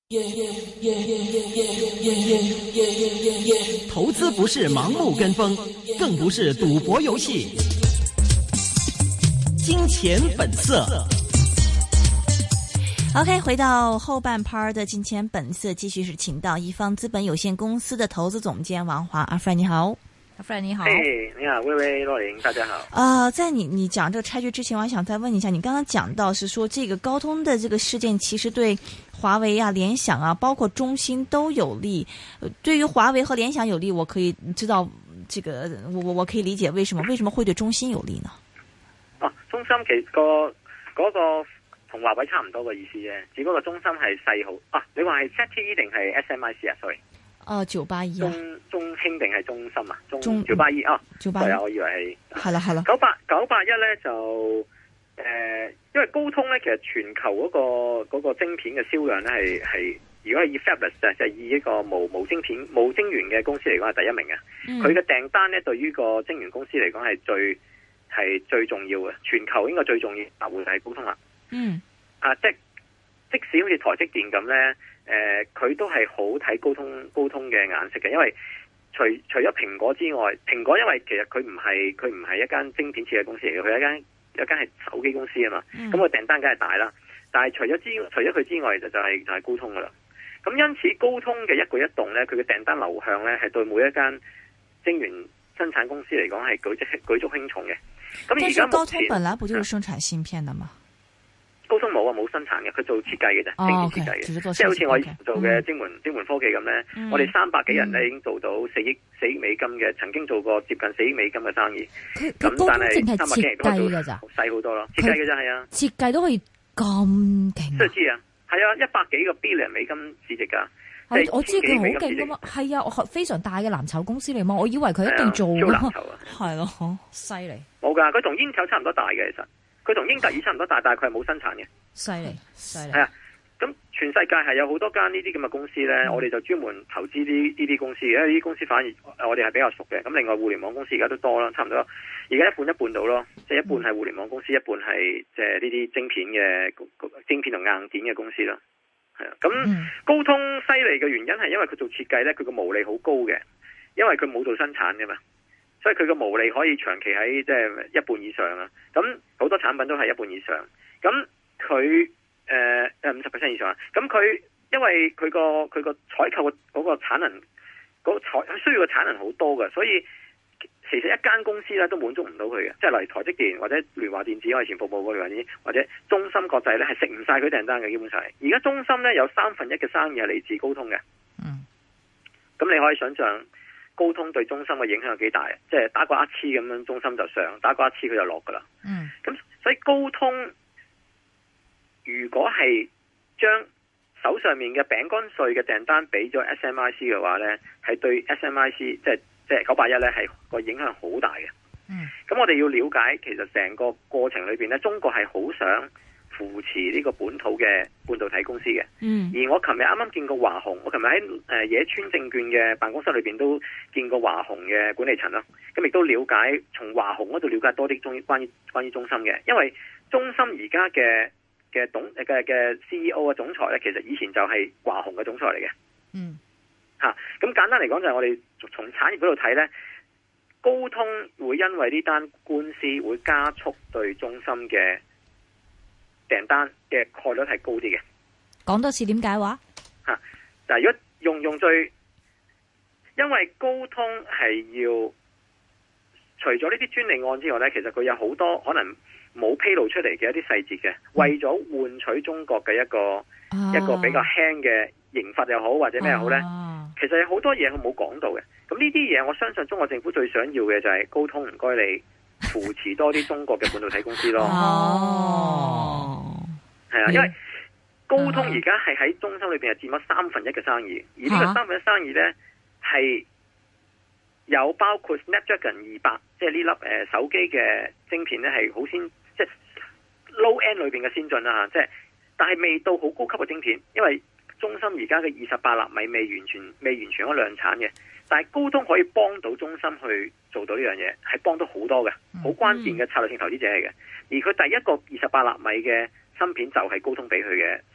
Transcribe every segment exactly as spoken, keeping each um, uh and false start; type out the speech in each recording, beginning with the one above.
投資不是盲目跟風，更不是賭博遊戲。金錢本色。 OK， 回到後半 part 的金錢本色，繼續是請到一方資本有限公司的投資總監王華。阿 Fred 你好。阿 Fred 你好。 嘿，你好，薇薇洛琳，大家好。 呃，在你你講這個拆局之前，我還想再問一下，你剛剛講到是說這個高通的這個事件其實對華為啊、聯想啊，包括中芯都有利。呃、對於華為和聯想有利，我可以知道這個，我我我可以理解為什麼，為什麼會對中芯有利呢？ 哦，中芯其實個嗰個同華為差唔多嘅意思啫，只不過中芯係細號啊。你話係 Z T E 定係 S M I C 啊 ？sorry。 哦，九八一中中興定係中芯啊？中九八一啊？ 九八一， 我以為係係啦係啦。 九八九八一咧就誒、呃，因為高通咧其實全球嗰、那個、那個晶片嘅銷量咧係係，如果係以 Fabless 就係以一個無無晶片無晶圓嘅公司嚟講係第一名嘅。佢嘅訂單咧對於個晶圓公司嚟講係最係最重要嘅，全球應該最重要啊會係高通啦。 嗯， 啊即即使好似台積電咁咧。誒、呃，佢都係好睇高通高通嘅眼色嘅，因為除除咗蘋果之外，蘋果因為其實佢唔係佢唔係一間晶片設計公司嚟嘅，佢係一間一間係手機公司啊嘛。咁佢訂單梗係大啦，但係除咗之除咗佢之外，就就係就係高通噶啦。咁因此高通嘅一舉一動咧，佢嘅訂單流向咧，係對每一間晶圓生產公司嚟講係舉足舉足輕重嘅。咁而家高通本來不就是生產芯片的嗎？ 高通冇啊，冇生產嘅，佢做設計嘅啫， 哦、 晶片設計嘅， 即係好似我以前做嘅晶門晶門科技咁咧， 嗯、 我哋三百幾人咧已經做到四億四億美金嘅，曾經做過接近四億美金嘅生意。咁但係三百幾人都做細好多咯，設計嘅啫係啊， 設計都可以咁勁。 都知啊，係啊，一百幾個 billion 美金市值噶。 我我知佢好勁噶嘛，係啊，非常大嘅藍籌公司嚟嘛，我以為佢一定做咯，係咯，好犀利。 冇噶，佢同英特爾差唔多大嘅，其實。佢同英特爾差唔多大，但係佢係冇生產嘅。 犀利，犀利。 係啊，咁全世界係有好多間呢啲咁嘅公司咧，嗯、我哋就專門投資呢呢啲公司，因為呢啲公司反而我哋係比較熟嘅。咁另外互聯網公司而家都多啦，差唔多。而家一半一半到咯，即係一半係互聯網公司，一半係即係呢啲晶片嘅晶片同硬件嘅公司啦。係啊，咁、嗯、高通犀利嘅原因係因為佢做設計咧，佢個毛利好高嘅，因為佢冇做生產嘅嘛。所以佢個毛利可以長期喺即係一半以上啊！咁好多產品都係一半以上。咁佢誒誒五十 percent 以上啊！咁佢因為佢個佢個採購嘅嗰個產能，嗰、嗰個採需要嘅產能好多嘅，所以其實一間公司咧都滿足唔到佢嘅。即係例如台積電或者聯華電子，我以前服務過聯華電子，或者中芯國際咧係食唔晒佢訂單嘅，基本上。而家中芯咧有三分一嘅生意係嚟自高通嘅。嗯。咁你可以想象。高通對中芯嘅影響有幾大？即係打個一次咁樣，中芯就上；打個一次佢就落噶啦。嗯，咁所以高通如果係將手上面嘅餅乾碎嘅訂單俾咗 S M I C 嘅話咧，係對 S M I C 即係即係九八一咧係個影響好大嘅。嗯，咁我哋要了解，其實成個過程裏邊咧，中國係好想扶持呢個本土嘅半導體公司嘅，嗯，而我琴日啱啱見過華虹，我琴日喺誒野村證券嘅辦公室裏邊都見過華虹嘅管理層啦，咁亦都了解從華虹嗰度了解多啲中關於關於中芯嘅，因為中芯而家嘅嘅董嘅嘅 C E O 嘅總裁咧，其實以前就係華虹嘅總裁嚟嘅，嗯，吓、啊，咁簡單嚟講就係我哋從產業嗰度睇咧，高通會因為呢單官司會加速對中芯嘅訂單嘅概率係高啲嘅。 講多次點解話？ 吓、啊，但係如果用用最，因為高通係要除咗呢啲專利案之外咧，其實佢有好多可能冇披露出嚟嘅一啲細節嘅，嗯、為咗換取中國嘅一個、啊、一個比較輕嘅刑罰又好或者咩好咧，啊、其實有好多嘢佢冇講到嘅。咁呢啲嘢，我相信中國政府最想要嘅就係高通唔該你扶持多啲中國嘅半導體公司咯。哦，係啊，因為高通而家係喺中芯裏邊係佔咗三分一嘅生意，而呢個三分一生意咧係有包括 Snapdragon 二百，即係呢粒誒手機嘅晶片咧係好先，即係 low end 裏邊嘅先進啦吓，即係但係未到好高級嘅晶片，因為中芯而家嘅二十八納米未完全未完全可量產嘅。但係高通可以幫到中芯去做到呢樣嘢，係幫到好多嘅，好關鍵嘅策略性投資者嚟嘅。而佢第一個二十八納米嘅芯片就係高通俾佢嘅生意，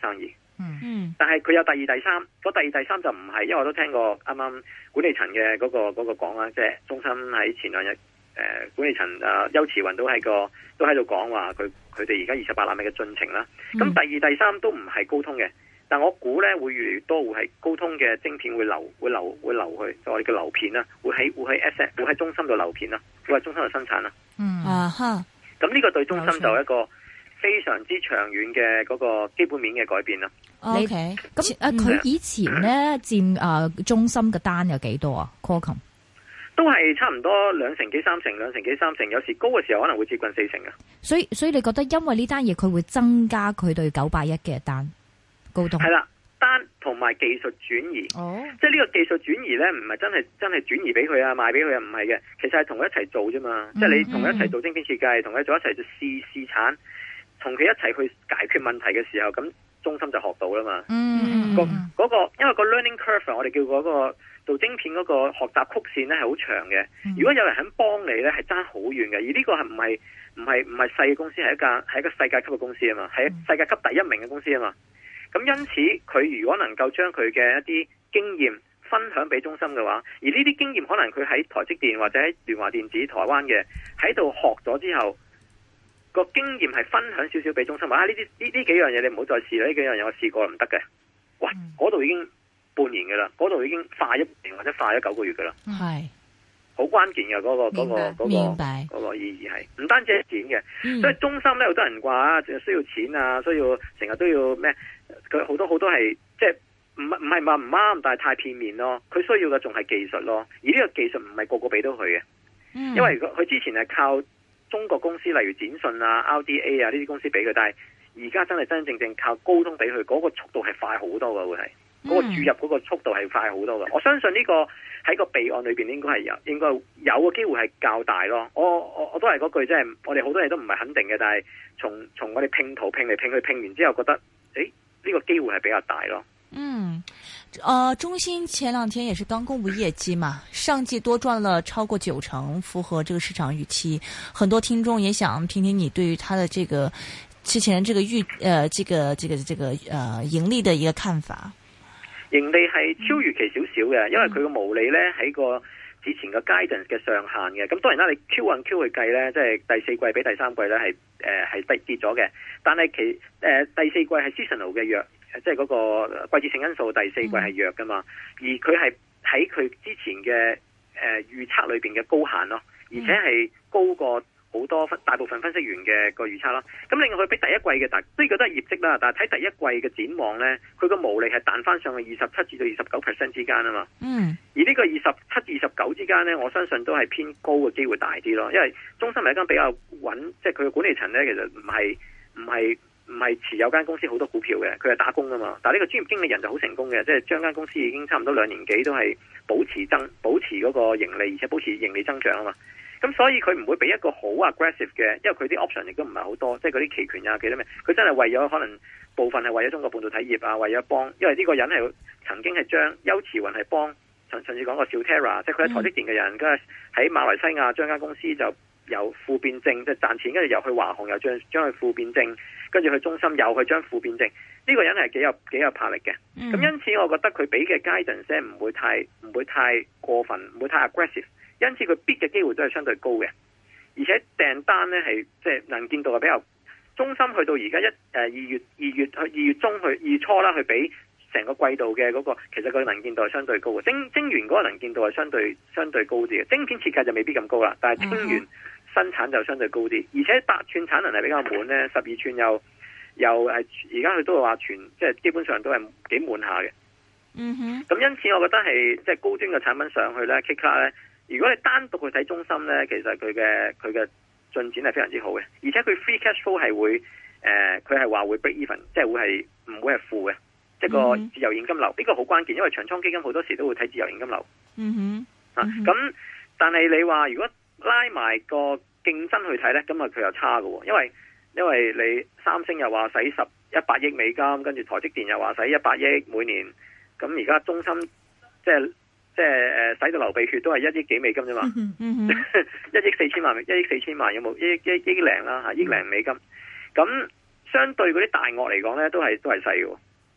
嗯嗯， 但係佢有第二、第三，嗰第二、第三就唔係，因為我都聽過啱啱管理層嘅嗰個嗰個講啦，即係中芯喺前兩日誒管理層啊邱慈雲都喺個都喺度講話，佢佢哋而家二十八納米嘅進程啦。咁、嗯、第二、第三都唔係高通嘅，但我估咧會越嚟越多會係高通嘅晶片會流會流會流去，就我哋嘅流片啦，會喺會喺 S 會喺中芯度流片啦，會喺中芯度生產啦。 嗯啊哈， 咁呢個對中芯就係一個非常之長遠嘅嗰個基本面嘅改變啦。 O K， 咁啊，佢以前咧佔誒中芯嘅單有幾多啊 Qualcomm 都係差唔多兩成幾三成，兩成幾三成，有時高嘅時候可能會接近四成嘅。 所以所以你覺得因為呢單嘢佢會增加佢對九百一嘅單高通？ 係啦，單同埋技術轉移。哦，即係呢個技術轉移咧，唔係真係真係轉移俾佢啊，賣俾佢啊，唔係嘅，其實係同佢一齊做啫嘛。嗯、即係你同佢一齊做晶片設計，同佢做一齊做試試產，同佢一齊去解決問題嘅時候，咁中芯就學到啦嘛。嗯，嗰、嗰個因為個 learning curve 我哋叫嗰個做晶片嗰個學習曲線咧係好長嘅。嗯、如果有人肯幫你咧，係爭好遠嘅。而呢個係唔係唔係唔係細嘅公司，係一間係一個世界級嘅公司啊嘛，係世界級第一名嘅公司啊嘛。咁因此佢如果能夠將佢嘅一啲經驗分享俾中芯嘅話，而呢啲經驗可能佢喺台積電或者喺聯華電子台灣嘅喺度學咗之後，個經驗係分享少少俾中芯，話啊呢啲呢呢幾樣嘢你唔好再試啦，呢幾樣嘢我試過唔得嘅。哇，嗰度已經半年嘅啦，嗰度已經快一年或者快咗九個月嘅啦。 係好關鍵嘅嗰個嗰個嗰個嗰個意義係唔單止係錢嘅，嗯、所以中芯咧好多人話啊，需要錢啊，需要成日都要咩？佢好多好多係即係唔唔係話唔啱，但係太片面咯。佢需要嘅仲係技術咯，而呢個技術唔係個個俾到佢嘅，嗯、因為佢之前係靠中國公司，例如展訊啊、R D A 啊呢啲公司俾佢，但係而家真係真真正正靠高通俾佢，嗰、嗰個速度係快好多嘅，會係嗰、嗰個注入嗰個速度係快好多嘅。我相信呢個喺個備案裏邊應該係有，應該有個機會係較大咯。我我我都係嗰句，即係我哋好多嘢都唔係肯定嘅，但係從從我哋拼圖拼嚟拼去拼完之後，覺得誒。呢個機會係比較大咯。 嗯，呃，中芯前兩天也是剛公布業績嘛，上季多賺了超過九成，符合這個市場預期。很多聽眾也想聽聽你對於它的這個之前這個預，呃，這個這個這個呃盈利的一個看法。 盈利係超預期少少嘅，因為佢個毛利咧喺個之前個 guidance 嘅上限嘅。咁當然啦，你 Q on Q 去計咧，即係第四季比第三季咧係誒係跌跌咗嘅。但係其誒、呃、第四季係 seasonal 嘅弱，即係嗰個季節性因素，第四季係弱噶嘛。而佢係喺佢之前嘅誒預測裏邊嘅高限咯，而且係高過好多分大部分分析員嘅個預測咯。咁另外佢比第一季嘅，但呢個都係業績啦。但係睇第一季嘅展望咧，佢個毛利係彈翻上去二十七至到二十九 percent 之間啊嘛。嗯。而呢個二十七至二十九之間咧，我相信都係偏高嘅機會大啲咯。因為中芯係一間比較穩，即係佢嘅管理層咧，其實唔係唔係唔係持有間公司好多股票嘅，佢係打工啊嘛。但係呢個專業經理人就好成功嘅，即係將間公司已經差唔多兩年幾都係保持增保持嗰個盈利，而且保持盈利增長啊嘛。咁所以佢唔會俾一個好 aggressive 嘅，因為佢啲 option 亦都唔係好多，即係嗰啲期權啊，幾多咩？佢真係為咗可能部分係為咗中國半導體業啊，為咗幫，因為呢個人係曾經係將邱慈雲係幫，甚至講個小 Terra，即係佢喺台積電嘅人，跟住喺馬來西亞將間公司就由負變正，即係賺錢，跟住又去華虹又將將佢負變正，跟住去中芯又去將負變正，呢、這個人係幾有幾有魄力嘅。咁、嗯、因此我覺得佢俾嘅 guidance 唔會太唔會太過分，唔會太 aggressive。因此佢 beat 嘅機會都係相對高嘅，而且訂單咧係即係能見度係比較中芯去到而家一誒二月二月去二月中去二月初啦，去比成個季度嘅嗰、那個其實佢能見度係相對高嘅，晶晶圓嗰個能見度係相對相對高啲嘅，晶片設計就未必咁高啦，但係晶圓生產就相對高啲，而且八寸產能係比較滿咧，十二寸又又係而家佢都係話全即係基本上都係幾滿下嘅。嗯哼，咁因此我覺得係即係高端嘅產品上去咧 K 卡咧。如果你單獨去睇中芯咧，其實佢嘅佢嘅進展係非常之好嘅，而且佢 free cash flow 係會誒，佢係話會 break even，即係會係唔會係負嘅，即係個自由現金流，呢、這個好關鍵，因為長倉基金好多時都會睇自由現金流。嗯哼，啊咁，但係你話如果拉埋個競爭去睇咧，咁啊佢又差嘅，因為因為你三星又話使十一百億美金，跟住台積電又話使一百億每年，咁而家中芯即係。即係誒，使到流鼻血都係一億幾美金啫嘛，一億四千萬，一億四千萬有冇？一億一億零啦吓，億零美金。咁相對嗰啲大鱷嚟講咧，都係都係細嘅。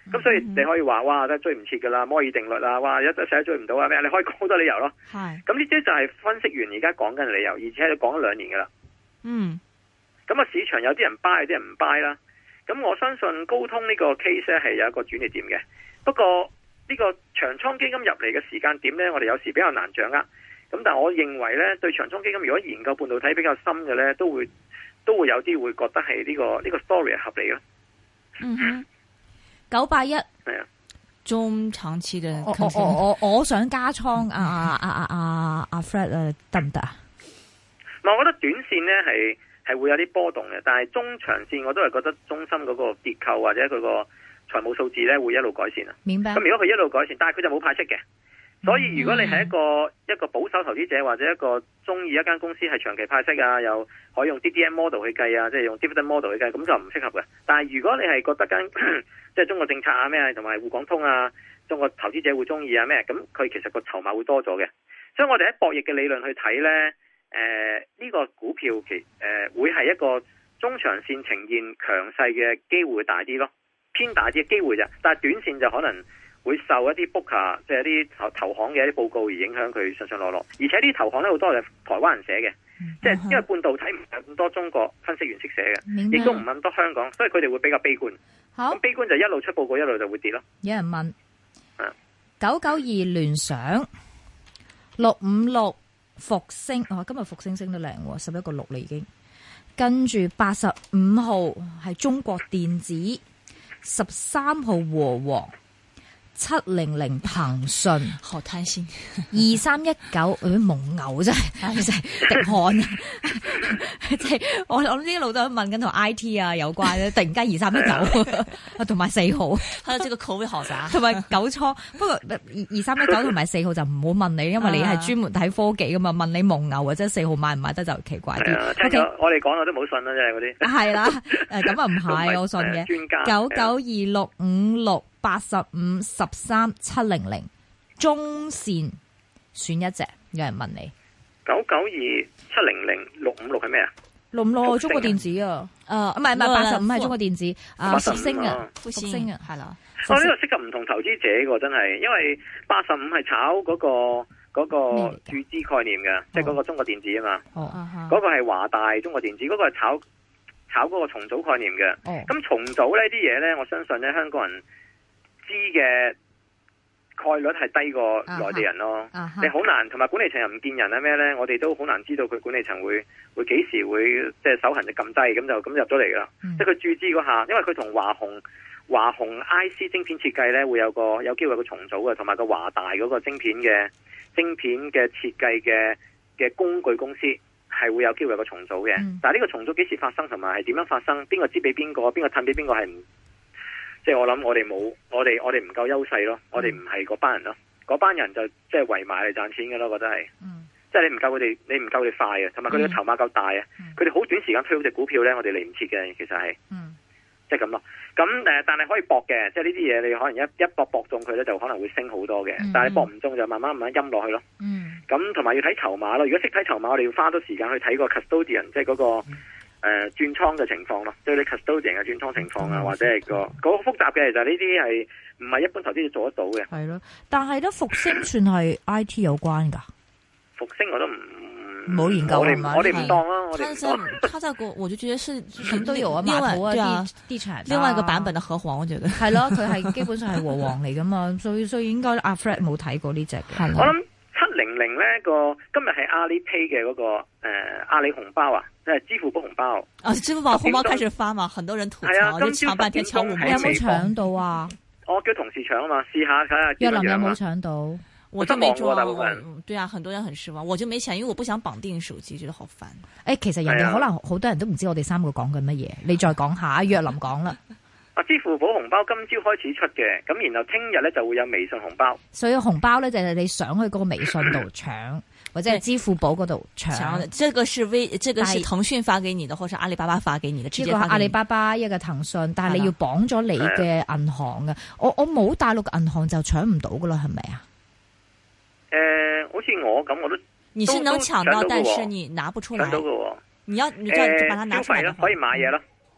咁所以你可以話哇，真係追唔切噶啦，摩爾定律啊，哇，一一世都追唔到啊咩？你可以講好多理由咯。 係。 咁呢啲就係分析員而家講緊嘅理由，而且佢講咗兩年噶啦。 嗯。 咁啊，市場有啲人 buy，有啲人唔 buy 啦。咁我相信高通呢個 case 咧係有一個轉捩點嘅。不過呢個長倉基金入嚟嘅時間點咧，我哋有時比較難掌握。咁但係我認為咧，對長倉基金如果研究半導體比較深嘅咧，都會都會有啲會覺得係呢、這個呢、這個 story 係合理咯。 嗯哼。 九八一係啊， 中長期嘅， 我我我我我想加倉啊啊啊啊啊 Fred 啊，得唔得啊？ 唔係，我覺得短線咧係係會有啲波動嘅，但係中長線我都係覺得中芯嗰個結構或者佢個財務數字咧會一路改善啊。 明白。 咁如果佢一路改善，但係佢就冇派息嘅，所以如果你係一個、嗯、一個保守投資者或者一個中意一間公司係長期派息啊，又可以用 D D M model 去計啊，即係用 dividend model 去計，咁就唔適合嘅。但係如果你係覺得間即係中國政策啊咩，同埋滬港通啊，中國投資者會中意啊咩，咁佢其實個籌碼會多咗嘅。所以我哋喺博弈嘅理論去睇呢，誒、呃、呢、這個股票其誒、呃、會係一個中長線呈現強勢嘅機會大啲咯，偏大啲嘅機會啫。但係短線就可能會受一啲 booker 即係一啲投投行嘅一啲報告而影響佢上上落落。而且呢啲投行咧好多係台灣人寫嘅。即係因為半導體唔係咁多中國分析員識寫嘅，亦都唔係咁多香港，所以佢哋會比較悲觀。 好， 咁悲觀就一路出報告，一路就會跌咯。 有人問：九九二聯想六五六復星，哦，今日復星升得靚，十一個六啦已經。跟住八十五號係中國電子，十三號和黃。七零零騰訊， 好貪心。 二三一九，誒蒙牛真係，真係滴汗啊！即係我我諗呢一路都問緊同 I T 啊有關咧，突然間二三一九，同埋四號， 佢有這個口味好雜， 同埋九倉。不過二二三一九同埋四號就唔好問你，因為你係專門睇科技噶嘛，問你蒙牛或者四號買唔買得就奇怪啲。 O K，我哋講我都冇信啦，即係嗰啲。係啦，誒咁啊唔係，我信嘅。 專家九九二六五六。八十五十三七零零中線選一隻，有人問你九九二七零零六五六係咩啊？ 六五六中國電子啊，誒唔係唔係八十五係中國電子啊，復星啊，復星啊，係啦。 哦，呢個適合唔同投資者個真係，因為八十五係炒嗰個嗰個注資概念嘅，即係嗰個中國電子啊嘛。哦，嗰個係華大中國電子，嗰個係炒炒嗰個重組概念嘅。哦，咁重組呢啲嘢咧，我相信咧香港人知嘅概率係低過內地人咯，uh huh. uh huh. 你好難，同埋管理層又唔見人啊咩咧？我哋都好難知道佢管理層會會幾時會即係手痕就撳低，咁就咁入咗嚟噶啦。Uh huh. 即係佢注資嗰下，因為佢同華虹華虹 I C 晶片設計咧會有個有機會有個重組嘅，同埋個華大嗰個晶片嘅晶片嘅設計嘅嘅工具公司係會有機會有個重組嘅。Uh huh. 但係呢個重組幾時發生，同埋係點樣發生？邊個知俾邊個？邊個褪俾邊個係唔？即係我諗，我哋冇，我哋我哋唔夠優勢咯，我哋唔係嗰班人咯，嗰班人就即係圍埋嚟賺錢嘅咯，覺得係，嗯、即係你唔夠佢哋，你唔夠佢哋快啊，同埋佢哋嘅籌碼夠大啊，佢哋好短時間推好隻股票咧，我哋嚟唔切嘅，其實係，嗯、即係咁咯。咁誒，但係可以搏嘅，即係呢啲嘢你可能一一搏搏中佢咧，就可能會升好多嘅，嗯、但係搏唔中就慢慢慢慢陰落去咯。咁同埋要睇籌碼咯，如果識睇籌碼，我哋要花多時間去睇個 custodian， 即係嗰個。嗯誒，轉倉嘅情況咯，即係你 custodian 嘅轉倉情況啊，或者係個嗰個複雜嘅，其實呢啲係唔係一般投資者做得到嘅。係咯， 但係咧復星算係 I T 有關噶。 復星我都唔冇研究， 我哋我哋唔當啊，我哋。 他在他在國，我就覺得是什麼都有啊，碼頭啊，地地產， 另外一個版本嘅和黃，我覺得係咯，佢係基本上係和黃嚟噶嘛，所以所以應該阿 Fred 冇睇過呢隻嘅。 我諗七零零咧個今日係阿里 Pay 嘅嗰個誒阿里紅包啊。即係支付寶紅包啊！支付寶紅包開始發嘛，很多人吐槽， 啊、 就搶半天搶五毛。 你有冇搶到啊？ 我叫同事搶啊嘛，試下睇下。 若林有冇搶到？ 我就沒做。對啊，很多人很失望，我就沒搶，因為我不想綁定手機，覺得好煩。誒、 欸，其實人哋可能好多人都唔知我哋三個講緊乜嘢，你再講下。若林講啦。 啊，支付寶紅包今朝開始出嘅，咁然後聽日咧就會有微信紅包。 所以紅包咧就係你上去嗰個微信度搶。或者係支付寶嗰度搶， 這個是微，這個是騰訊發給你的，或者阿里巴巴發給你的，直接發給你。一個阿里巴巴，一個騰訊，但係你要綁咗你嘅銀行嘅。我我冇大陸嘅銀行就搶唔到噶啦，係咪啊？ 誒、呃，好似我咁，我都你是能搶到，但是你拿不出來。 搶到嘅， 你要你就把它拿出來、呃。消費咯， 可以買嘢咯。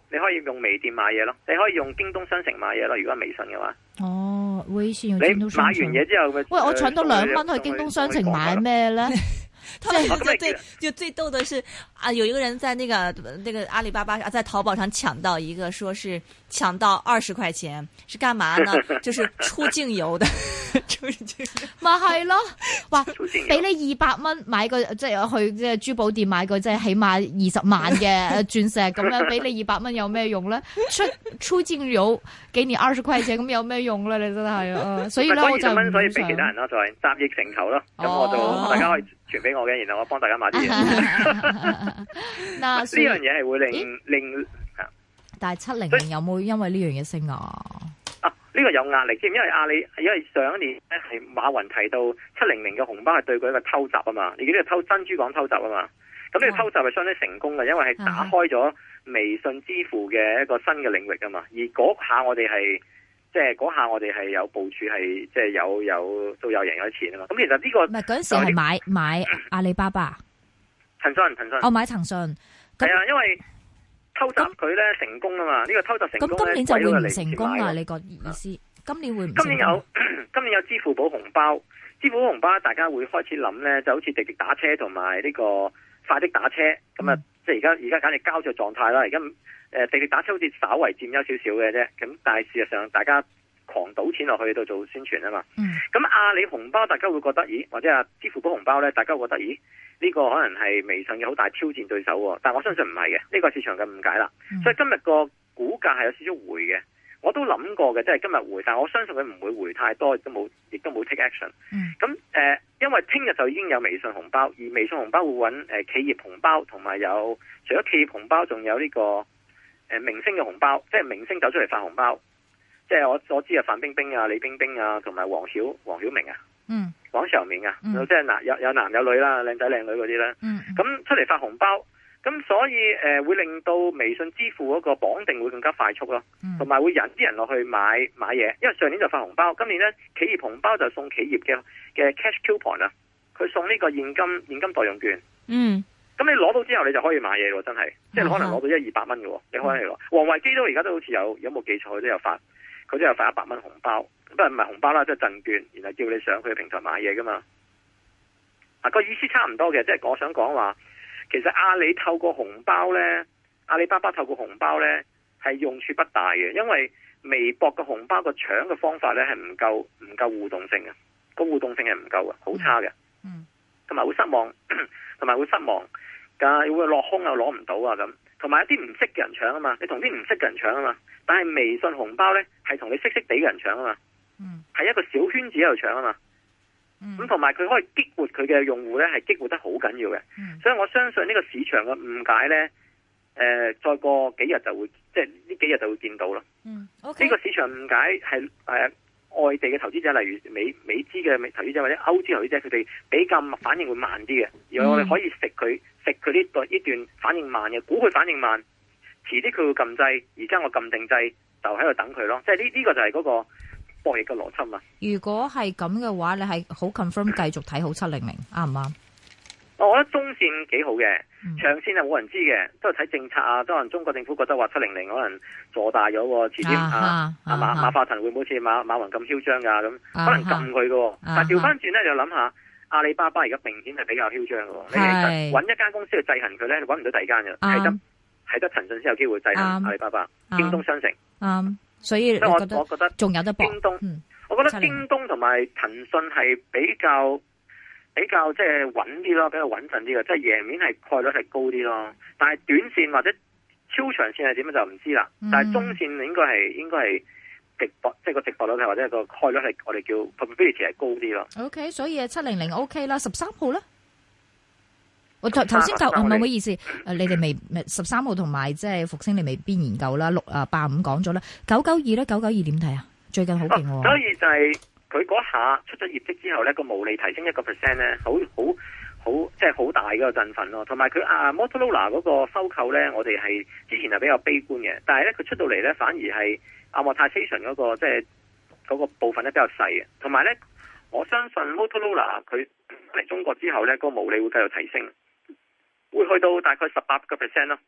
你可以用微店買嘢咯，你可以用京東商城買嘢咯。如果係微信嘅話， 哦，微信用你京東商城。 買完嘢之後， 喂，我搶到兩蚊去京東商城買咩咧？ 他們就最就最逗的是啊，有一個人在那個那個阿里巴巴在淘寶上搶到一個，說是搶到二十塊錢，是幹嘛呢？就是出境遊的，出境咪係咯，話俾你二百蚊買個即係去即係珠寶店買個即係起碼二十萬嘅鑽石咁樣，俾你二百蚊有咩用咧？出出境遊幾年二十塊錢咁有咩用咧？你真係啊！所以咧我就蚊所以俾其他人咯，就係集腋成裘咯。咁我就大家可以傳俾我嘅，然後我幫大家買啲嘢。 嗱，呢樣嘢係會令令， 但係七零零有冇因為呢樣嘢升啊？ 啊，呢個有壓力添，因為阿里因為上一年咧係馬雲提到七零零嘅紅包係對佢一個偷襲啊嘛，你記得偷珍珠港偷襲啊嘛，咁呢個偷襲係相當成功嘅，因為係打開咗微信支付嘅一個新嘅領域啊嘛，而嗰下我哋係。即係嗰下我哋係有部署，係即係有有都有贏咗錢啊嘛。咁其實呢個唔係嗰陣時係買買阿里巴巴、 騰訊、騰訊。 我買騰訊。 係啊，因為偷襲佢咧成功啊嘛。呢個偷襲成功咧， 咁今年就會唔成功啊？你個意思？今年會唔？ 今年有今年有支付寶紅包，支付寶紅包大家會開始諗咧，就好似滴滴打車同埋呢個快的打車咁啊。嗯、即係而家而家簡直膠着狀態啦。而家。誒，滴滴打車好似稍為佔優少少嘅啫，咁但係事實上大家狂賭錢落去度做宣傳啊嘛。咁、嗯、阿里紅包大家會覺得，咦？或者啊支付寶紅包咧，大家會覺得，咦？呢、這個可能係微信嘅好大挑戰對手，但係我相信唔係嘅，呢、這個市場嘅誤解啦。嗯、所以今日個股價係有少少回嘅，我都諗過嘅，即係今日回，但係我相信佢唔會回太多，亦都冇，亦都冇 take action。咁誒、嗯呃，因為聽日就已經有微信紅包，而微信紅包會揾誒企業紅包，同埋有，有除咗企業紅包，仲有呢、這個。誒，明星嘅紅包，即係明星走出嚟發紅包，即係我所知啊，范冰冰啊、李冰冰啊，同埋黃曉黃曉明啊，嗯，黃曉明啊，嗯、即係男有有男有女啦，靚仔靚女嗰啲咧，嗯，咁出嚟發紅包，咁所以誒、呃、會令到微信支付嗰個綁定會更加快速咯，同埋、嗯、會引啲人落去買買嘢，因為上年就發紅包，今年咧企業紅包就送企業嘅嘅 cash coupon 啊，佢送呢個現金現金代用券，嗯。咁你攞到之後，你就可以買嘢喎，真係，即係可能攞到一二百蚊嘅喎，你可以攞。王維基都而家都好似有，有冇記錯佢都有發，佢都有發一百蚊紅包，不過唔係紅包啦，即係贈券，然後叫你上佢嘅平台買嘢噶嘛。啊，個意思差唔多嘅，即係我想講話，其實阿里透過紅包咧，阿里巴巴透過紅包咧係用處不大嘅，因為微博嘅紅包個搶嘅方法咧係唔夠唔夠互動性嘅，個互動性係唔夠嘅，好差嘅，嗯，同埋會失望，同埋會失望。會落空又攞唔到啊咁，同埋一啲唔識嘅人搶啊嘛，你同啲唔識嘅人搶啊嘛，但係微信紅包呢，係同你識識地嘅人搶啊嘛，嗯，係一個小圈子喺度搶啊嘛，咁同埋佢可以激活佢嘅用戶呢，係激活得好緊要嘅，嗯、所以我相信呢個市場嘅誤解呢，誒、呃，再過幾日就會，即係呢幾日就會見到咯，嗯，呢、okay. 個市場誤解係誒外地嘅投資者，例如美美資嘅投資者或者歐資投資者，佢哋比較反應會慢啲嘅，而我哋可以食佢。食佢呢段呢段反應慢嘅，估佢反應慢，遲啲佢會撳掣，而家我撳定掣就喺度等佢咯。即係呢呢個就係嗰個博弈嘅邏輯嘛。如果係咁嘅話，你係好 confirm 繼續睇好七零零，啱唔啱？我覺得中線幾好嘅，長線係冇人知嘅，都係睇政策啊。當然中國政府覺得話七零零可能做大咗喎，遲啲啊啊馬馬化騰會唔會好似馬馬雲咁囂張噶咁，可能撳佢嘅。但係調翻轉咧，就諗下。阿里巴巴而家明顯係比較囂張嘅，你係揾一間公司去制衡佢咧，你揾唔到第二間嘅，係得係得騰訊先有機會制衡阿里巴巴、京東商城。啱，所以我我覺得仲有得搏。京東，我覺得京東同埋騰訊係比較比較即係穩啲咯，比較穩陣啲嘅，即係贏面係概率係高啲咯。但係短線或者超長線係點樣就唔知啦。但係中線應該係應該係。直播即係個直播率係或者個概率係我哋叫 probability 係高啲咯。O、okay, K， 所以七零零 O K 啦，十三號咧，我頭頭先就唔係咩意思？誒，你哋未十三號同埋即係復星，你未必研究啦。六啊八五講咗啦，九九二咧，九九二點睇啊？最近好勁喎。所以就係佢嗰下出咗業績之後咧，個毛利提升一個 percent 咧，好好好，即係好大嗰個振奮咯。同埋佢啊 Motorola 嗰個收購咧，我哋係之前係比較悲觀嘅，但係咧佢出到嚟咧反而係。amortization 嗰個即係嗰個部分咧比較細嘅，同埋咧我相信 Motorola 佢嚟中國之後咧，個毛利會繼續提升，會去到大概十八個 percent 咯。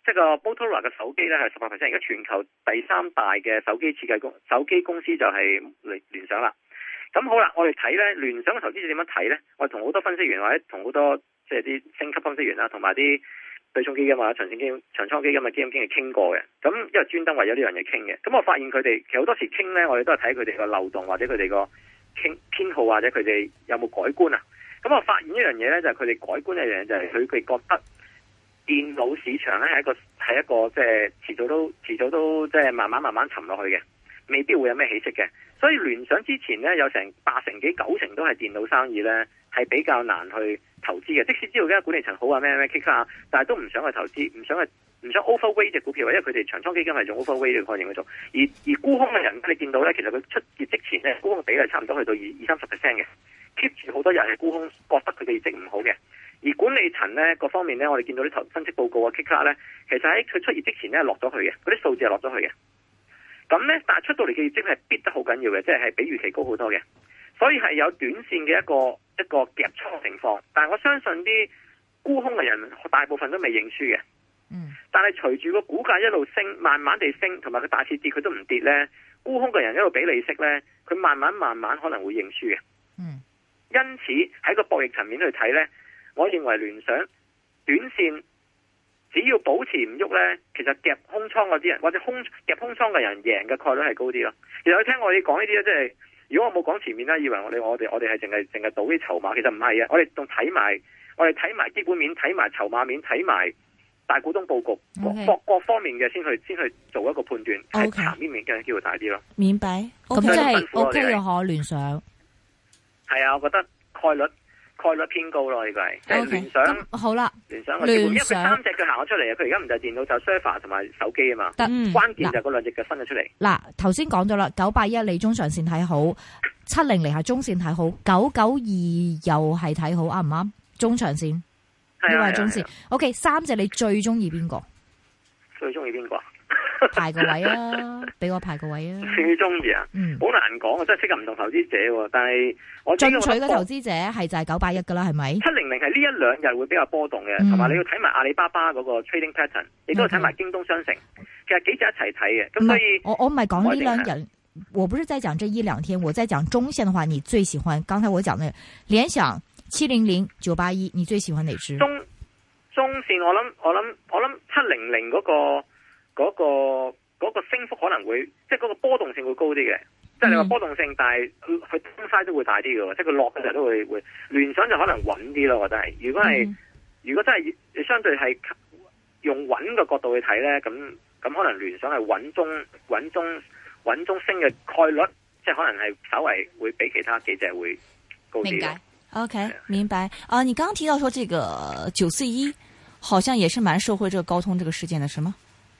即係個 Motorola 嘅手機咧係十八 percent，而家全球第三大嘅手機設計公手機公司就係聯聯想啦。咁好啦，我哋睇咧聯想嘅投資者點樣睇咧？我哋同好多分析員或者同好多即係啲星級分析員啦，同埋啲對沖基金或者長線基金、長倉基金嘅基金經理傾過嘅。咁因為專登為咗呢樣嘢傾嘅。咁我發現佢哋其實好多時傾咧，我哋都係睇佢哋個漏洞或者佢哋個傾偏好或者佢哋有冇改觀啊。咁我發現一樣嘢咧，就係佢哋改觀一樣嘢就係佢哋覺得。電腦市場咧係一個係一個即係遲早都遲早都即係慢慢慢慢沉落去嘅，未必會有咩起色嘅。所以聯想之前咧有成八成幾九成都係電腦生意咧，係比較難去投資嘅。即使知道而家管理層好啊咩咩 kick 啊，但係都唔想去投資，唔想去唔想 overweight 隻股票，因為佢哋長倉基金係用 overweight 嘅概念去做。而而沽空嘅人你見到咧，其實佢出業績前咧沽空嘅比例差唔多去到二二三十 percent 嘅 ，keep 住好多人係沽空，覺得佢嘅業績唔好嘅。而管理層咧各方面咧，我哋見到啲投分析報告啊 kick 卡咧，其實喺佢出業績前咧落咗去嘅，嗰啲數字係落咗去嘅。咁咧，但係出到嚟嘅業績係跌得好緊要嘅，即係係比預期高好多嘅，所以係有短線嘅一個一個夾倉情況。但係我相信啲沽空嘅人大部分都未認輸嘅。 嗯。但係隨住個股價一路升，慢慢地升，同埋佢大市跌佢都唔跌咧，沽空嘅人一路俾利息咧，佢慢慢慢慢可能會認輸嘅。 嗯。 因此喺個博弈層面去睇咧。我認為聯想短線只要保持唔喐呢，其實夾空倉嗰啲人或者空夾空倉嘅人贏嘅概率係高啲咯。其實你聽我哋講呢啲咧，即係如果我冇講前面咧，以為我哋我哋我哋係淨係淨係賭啲籌碼，其實唔係嘅。我哋仲睇埋我哋睇埋基本面，睇埋籌碼面，睇埋大股東佈局各、okay. 各方面嘅先去先去做一個判斷，係盤面面嘅機會大啲咯。 明白。 咁即係 O K 嘅可聯想。 係啊，我覺得概率。概率偏高咯，呢個係即係聯想。 咁好啦， 聯想嘅基本，因為佢三隻佢行咗出嚟啊！佢而家唔就係電腦，就 server 同埋手機啊嘛。得、嗯，關鍵就係嗰兩隻腳分咗出嚟。嗱， 頭先講咗啦，九八一你中長線睇好，七零零係中線睇好，九九二又係睇好，啱唔啱？中長線，呢個係中線。O K， 三隻你最中意邊個？ 最中意邊個？ 排個位啊，俾我排個位啊！ 最中意啊，嗯，好難講啊，真係適合唔同投資者。但係我進取嘅投資者係就係九八一噶啦，係咪？ 七零零係呢一兩日會比較波動嘅，同、嗯、埋你要睇埋阿里巴巴嗰個 trading pattern，亦都要睇埋京東商城。Okay. 其實幾隻一齊睇嘅，咁所以我我唔係講呢兩日，我不是在講這一兩天，我在講中線嘅話，你最喜歡？剛才我講嘅聯想、七零零、九八一，你最喜歡哪支？ 中中線我諗我諗我諗七零零嗰個。嗰、那個嗰、那個升幅可能會，即係嗰個波動性會高啲嘅。即係你話波動性，但係佢東西都會大啲嘅，即係佢落嘅時候都會會。聯想就可能穩啲咯，我覺得係。如果係、嗯、如果真係你相對係用穩嘅角度去睇咧，咁咁可能聯想係穩中穩中穩中升嘅概率，即係可能係稍微會比其他幾隻會高啲。 明白 OK， 明白。啊，你剛剛提到說這個九四一，好像也是蠻受惠這個高通這個事件的，是嗎？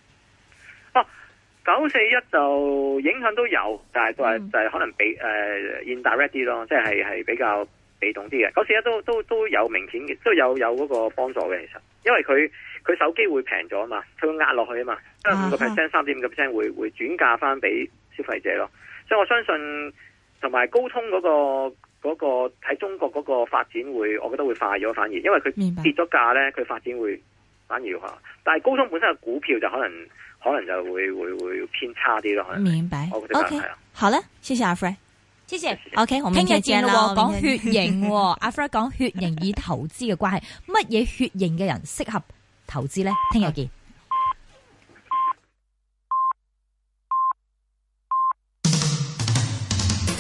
九四一就影響都有，但係就係就係可能比誒、呃、indirect 啲咯，即係係比較被動啲嘅。九四一都都都有明顯嘅，都有有嗰個幫助嘅。其實，因為佢佢手機會平咗啊嘛，佢會壓落去啊嘛，即係五個 percent、三點五個 percent 會會轉嫁翻俾消費者咯。所以我相信同埋高通嗰、嗰個嗰、嗰個喺中國嗰個發展會，我覺得會快咗反而，因為佢跌咗價咧，佢發展會反而吓。但係高通本身嘅股票就可能。可能就會會會偏差啲咯。 明白。O K， 好了，謝謝阿 Fred，謝謝。O K， 我們聽日見啦。 講血型，阿 Fred 講血型以投資嘅關係，乜嘢血型嘅人適合投資咧？聽日見。